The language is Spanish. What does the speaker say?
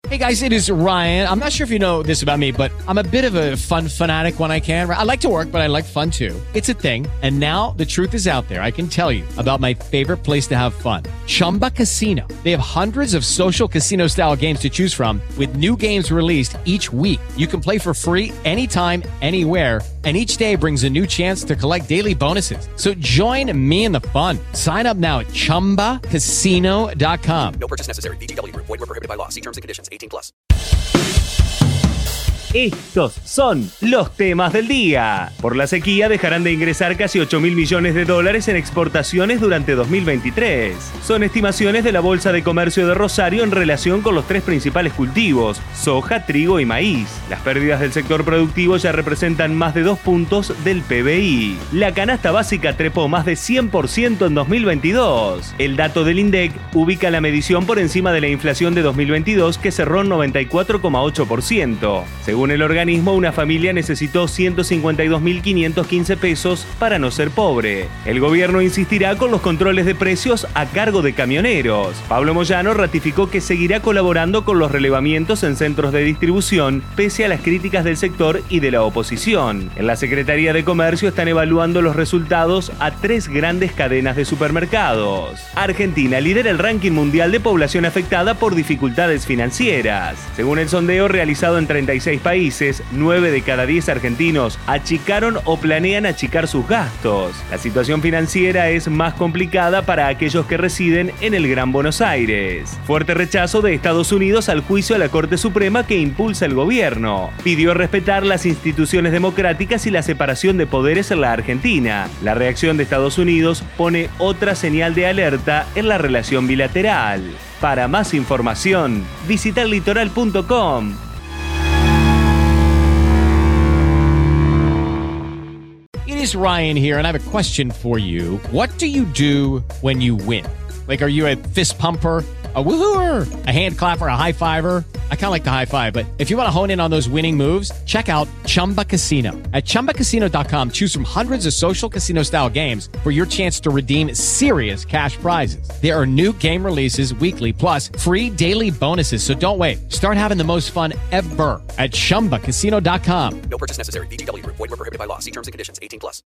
Hey guys, it is Ryan. I'm not sure if you know this about me, but I'm a bit of a fun fanatic when I can. I like to work, but I like fun too. It's a thing. And now the truth is out there. I can tell you about my favorite place to have fun. Chumba Casino. They have hundreds of social casino style games to choose from with new games released each week. You can play for free anytime, anywhere. And each day brings a new chance to collect daily bonuses. So join me in the fun. Sign up now at ChumbaCasino.com. No purchase necessary. VGW Group. Void where prohibited by law. See terms and conditions. 18+. Estos son los temas del día. Por la sequía dejarán de ingresar casi 8.000 millones de dólares en exportaciones durante 2023. Son estimaciones de la Bolsa de Comercio de Rosario en relación con los tres principales cultivos, soja, trigo y maíz. Las pérdidas del sector productivo ya representan más de 2 puntos del PBI. La canasta básica trepó más de 100% en 2022. El dato del INDEC ubica la medición por encima de la inflación de 2022, que cerró en 94,8%. Según el organismo, una familia necesitó 152.515 pesos para no ser pobre. El gobierno insistirá con los controles de precios a cargo de camioneros. Pablo Moyano ratificó que seguirá colaborando con los relevamientos en centros de distribución, pese a las críticas del sector y de la oposición. En la Secretaría de Comercio están evaluando los resultados a 3 grandes cadenas de supermercados. Argentina lidera el ranking mundial de población afectada por dificultades financieras. Según el sondeo realizado en 36 países, 9 de cada 10 argentinos achicaron o planean achicar sus gastos. La situación financiera es más complicada para aquellos que residen en el Gran Buenos Aires. Fuerte rechazo de Estados Unidos al juicio a la Corte Suprema que impulsa el gobierno. Pidió respetar las instituciones democráticas y la separación de poderes en la Argentina. La reacción de Estados Unidos pone otra señal de alerta en la relación bilateral. Para más información, visita elitoral.com. It is Ryan here, and I have a question for you. What do you do when you win? Like, are you a fist pumper, a woohooer, a hand clapper, a high fiver? I kind of like the high five, but if you want to hone in on those winning moves, check out Chumba Casino. At ChumbaCasino.com, choose from hundreds of social casino style games for your chance to redeem serious cash prizes. There are new game releases weekly, plus free daily bonuses. So don't wait. Start having the most fun ever at ChumbaCasino.com. No purchase necessary. VGW Group. Void where prohibited by law. See terms and conditions. 18+.